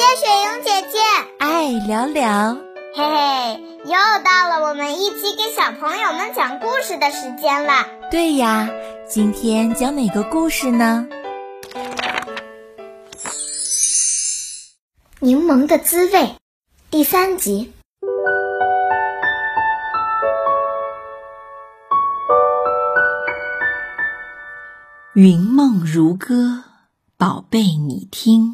雪莹姐姐， 爱聊聊， 嘿嘿，又到了我们一起给小朋友们讲故事的时间了。 对呀，今天讲哪个故事呢？ 柠檬的滋味第3集。 云梦如歌，宝贝你听。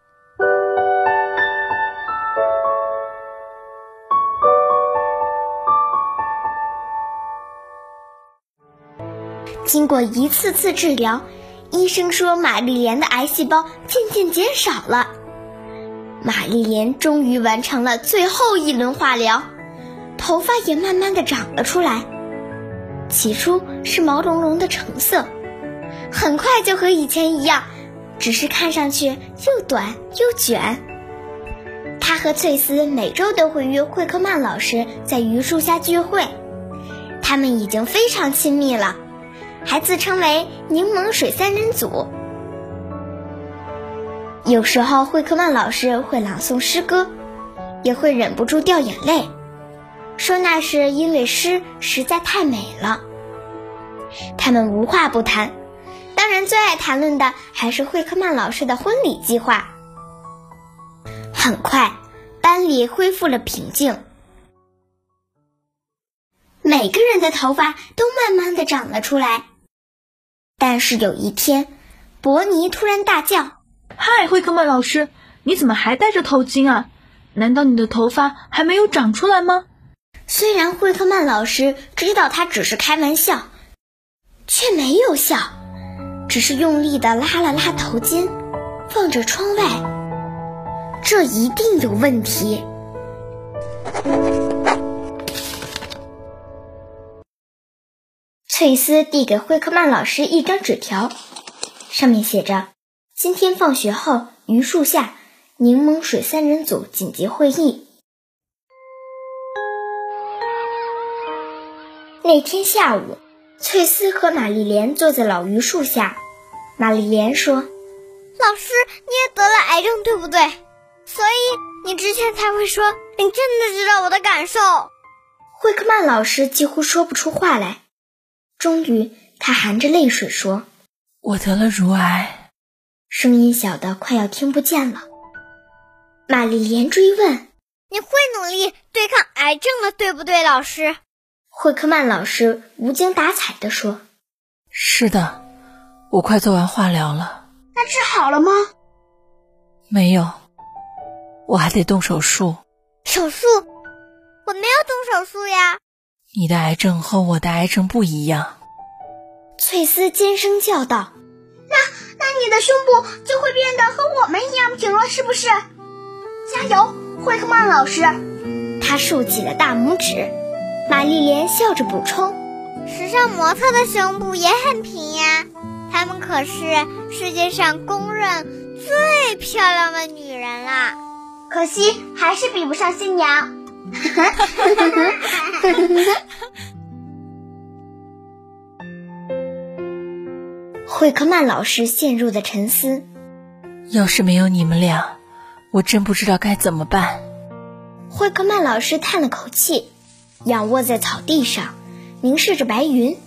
经过一次次治疗，医生说玛丽莲的癌细胞渐渐减少了。玛丽莲终于完成了最后一轮化疗，头发也慢慢的长了出来。起初是毛茸茸的橙色，很快就和以前一样，只是看上去又短又卷。她和翠丝每周都会约惠克曼老师在榆树下聚会，他们已经非常亲密了，还自称为柠檬水3人组。有时候惠克曼老师会朗诵诗歌，也会忍不住掉眼泪，说那是因为诗实在太美了。他们无话不谈，当然最爱谈论的还是惠克曼老师的婚礼计划。很快，班里恢复了平静，每个人的头发都慢慢地长了出来。但是有一天，伯尼突然大叫： 嗨，惠克曼老师，你怎么还戴着头巾啊？难道你的头发还没有长出来吗？ 虽然惠克曼老师知道他只是开玩笑，却没有笑，只是用力地拉了拉头巾，望着窗外。这一定有问题。翠丝递给惠克曼老师一张纸条，上面写着：今天放学后，榆树下柠檬水3人组紧急会议。那天下午，翠丝和玛丽莲坐在老榆树下。玛丽莲说： 老师，你也得了癌症对不对？所以你之前才会说你真的知道我的感受。 惠克曼老师几乎说不出话来，终于他含着泪水说： 我得了乳癌。 声音小得快要听不见了。玛丽莲追问： 你会努力对抗癌症了对不对，老师？ 惠克曼老师无精打采地说： 是的，我快做完化疗了。 那治好了吗？ 没有，我还得动手术。 手术？我没有动手术呀。 你的癌症和我的癌症不一样。 翠丝尖声叫道： 那你的胸部就会变得和我们一样平了，是不是？加油，惠克曼老师！ 他竖起了大拇指。玛丽莲笑着补充： 时尚模特的胸部也很平呀，她们可是世界上公认最漂亮的女人啦。 可惜还是比不上新娘。惠克曼老师陷入了沉思。 要是没有你们俩，我真不知道该怎么办。 惠克曼老师叹了口气，仰卧在草地上，凝视着白云。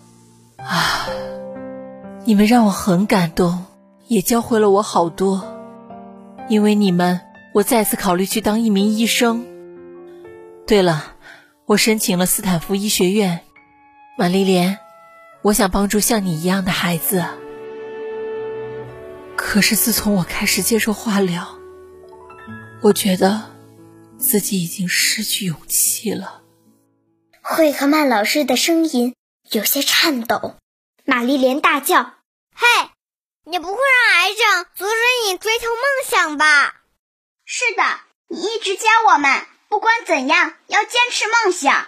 你们让我很感动，也教会了我好多。因为你们，我再次考虑去当一名医生。对了，我申请了斯坦福医学院。玛丽莲，我想帮助像你一样的孩子。可是自从我开始接受化疗，我觉得自己已经失去勇气了。 惠克曼老师的声音有些颤抖。玛丽莲大叫： 嘿，你不会让癌症阻止你追求梦想吧？ 是的，你一直教我们，不管怎样要坚持梦想。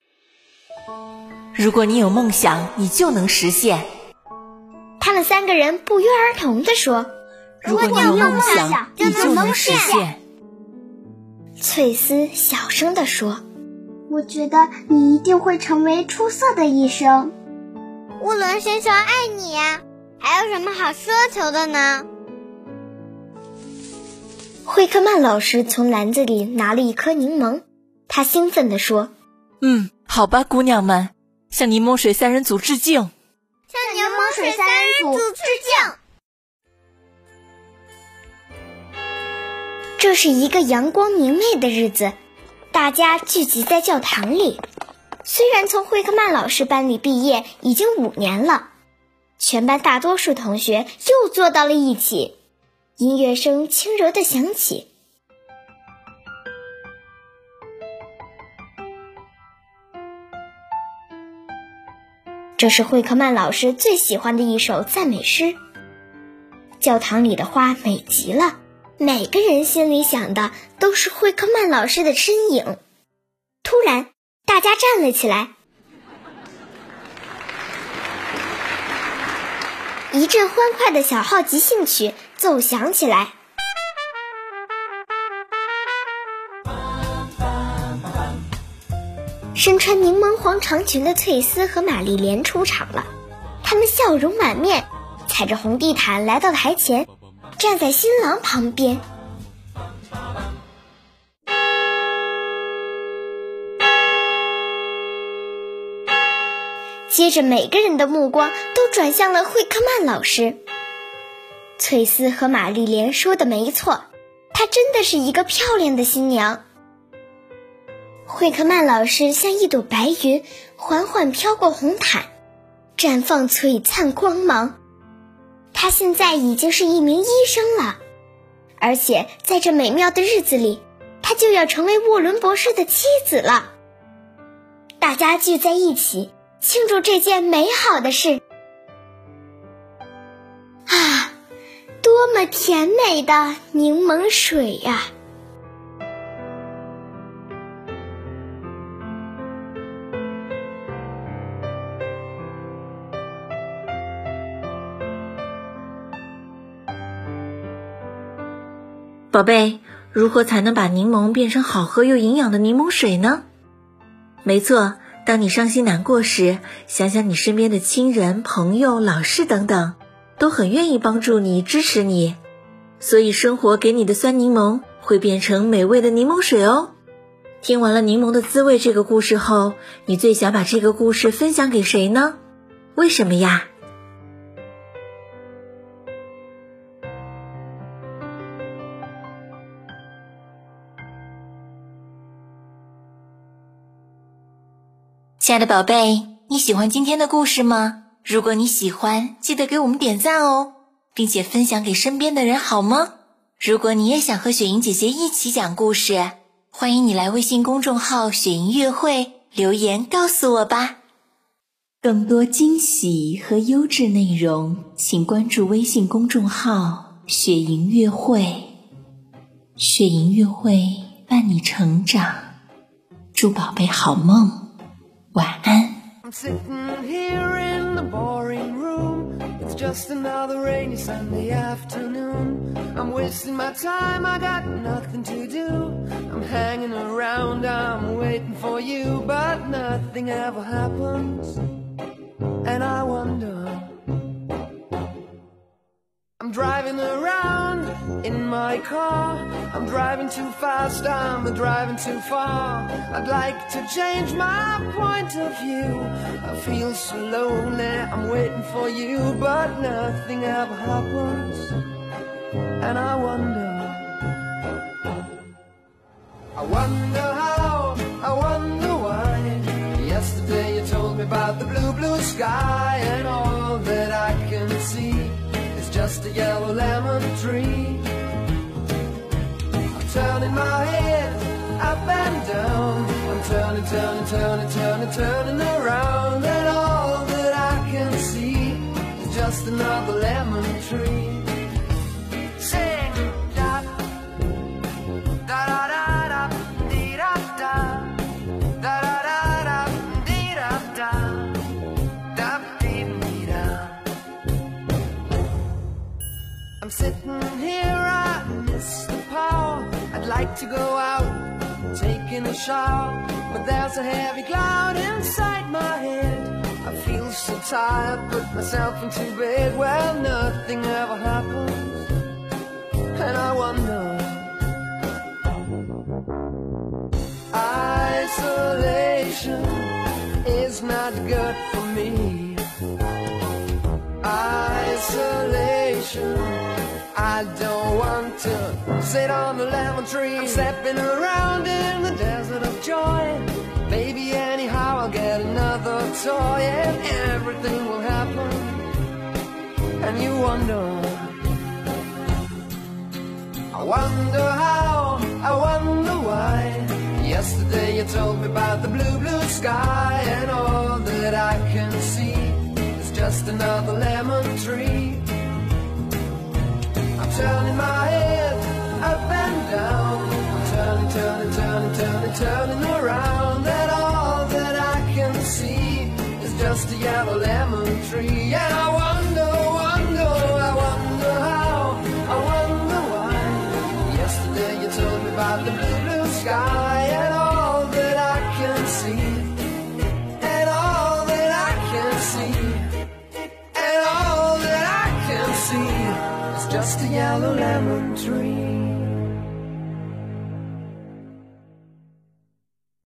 如果你有梦想，你就能实现。 他们3个人不约而同地说： 如果你有梦想，你就能实现。 翠丝小声地说：我觉得你一定会成为出色的医生。 无论先生爱你呀，还有什么好奢求的呢？ 惠克曼老师从篮子里拿了一颗柠檬，他兴奋地说： 好吧，姑娘们，向柠檬水三人组致敬！ 向柠檬水三人组致敬！ 这是一个阳光明媚的日子，大家聚集在教堂里。虽然从惠克曼老师班里毕业已经5年了，全班大多数同学又坐到了一起，音乐声轻柔地响起。这是惠克曼老师最喜欢的一首赞美诗。教堂里的花美极了，每个人心里想的都是惠克曼老师的身影。突然，大家站了起来，一阵欢快的小号即兴曲奏响起来。身穿柠檬黄长裙的翠丝和玛丽莲出场了，她们笑容满面，踩着红地毯来到台前，站在新郎旁边。接着每个人的目光都转向了惠克曼老师。翠丝和玛丽莲说的没错，她真的是一个漂亮的新娘。惠克曼老师像一朵白云，缓缓飘过红毯，绽放璀璨光芒。她现在已经是一名医生了，而且在这美妙的日子里，她就要成为沃伦博士的妻子了。大家聚在一起庆祝这件美好的事。啊，多么甜美的柠檬水呀！ 宝贝，如何才能把柠檬变成好喝又营养的柠檬水呢？没错，当你伤心难过时，想想你身边的亲人、朋友、老师等等，都很愿意帮助你、支持你。所以生活给你的酸柠檬会变成美味的柠檬水哦。听完了柠檬的滋味这个故事后，你最想把这个故事分享给谁呢？为什么呀？亲爱的宝贝，你喜欢今天的故事吗？如果你喜欢，记得给我们点赞哦，并且分享给身边的人好吗？如果你也想和雪莹姐姐一起讲故事，欢迎你来微信公众号雪莹乐会留言告诉我吧。更多惊喜和优质内容，请关注微信公众号雪莹乐会。雪莹乐会伴你成长，祝宝贝好梦。晚安。 I'm sitting here in the boring room. It's just another rainy Sunday afternoon. I'm wasting my time, I got nothing to do. I'm hanging around, I'm waiting for you, but nothing ever happens. And I wonder, I'm driving around in my car. I'm driving too fast, I'm driving too far. I'd like to change my point of view. I feel so lonely, I'm waiting for you, but nothing ever happens. And I wonder how, I wonder why. Yesterday you told me about the blue, blue sky, and all that I can see is just a yellow lemon tree. I'm turning my head up and down. I'm turning, turning, turning, turning, turning around, and all that I can see is just another lemon tree. Sing da da da da da dee da da da da da da dee da da da dee dee da. I'm sitting here, I miss the power. I'd like to go out, taking a shower, but there's a heavy cloud inside my head. I feel so tired, put myself into bed. Well, nothing ever happens, and I wonder Isolation is not good for me. Isolation, I don't want to sit on the lemon tree. I'm stepping around in the desert of joy. Baby, anyhow I'll get another toy, and everything will happen. And you wonder, I wonder how, I wonder why. Yesterday you told me about the blue, blue sky, and all that I can see is just another lemon tree. I'm turning my head up and down. I'm turning, turning, turning, turning, turning around, and all that I can see is just a yellow lemon tree. And I wonder, wonder, I wonder how, I wonder why. Yesterday you told me about the blue, blue sky, and all that I can see, and all that I can see, and all that I can see is just a yellow lemon tree.